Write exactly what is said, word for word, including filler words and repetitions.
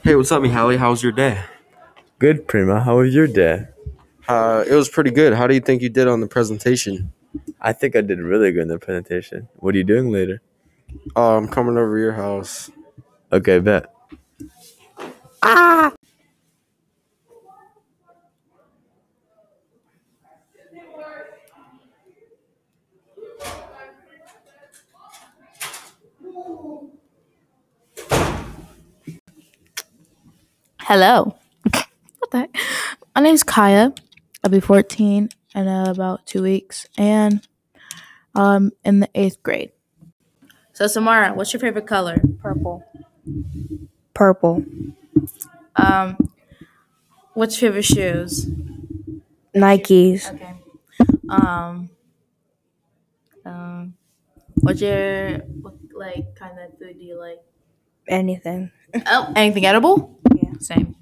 Hey, what's up, Mihaly? How was your day? Good, Prima. How was your day? Uh, it was pretty good. How do you think you did on the presentation? I think I did really good in the presentation. What are you doing later? Uh, I'm coming over to your house. Okay, bet. Hello. What the heck? My name's Kaya. I'll be fourteen in uh, about two weeks, and um in the eighth grade. So Samara, what's your favorite color? Purple. Purple. Um, what's your favorite shoes? Nikes. Okay. Um, um, what's your what, like kind of food do you like? Anything. Oh, anything edible? Yeah. Same.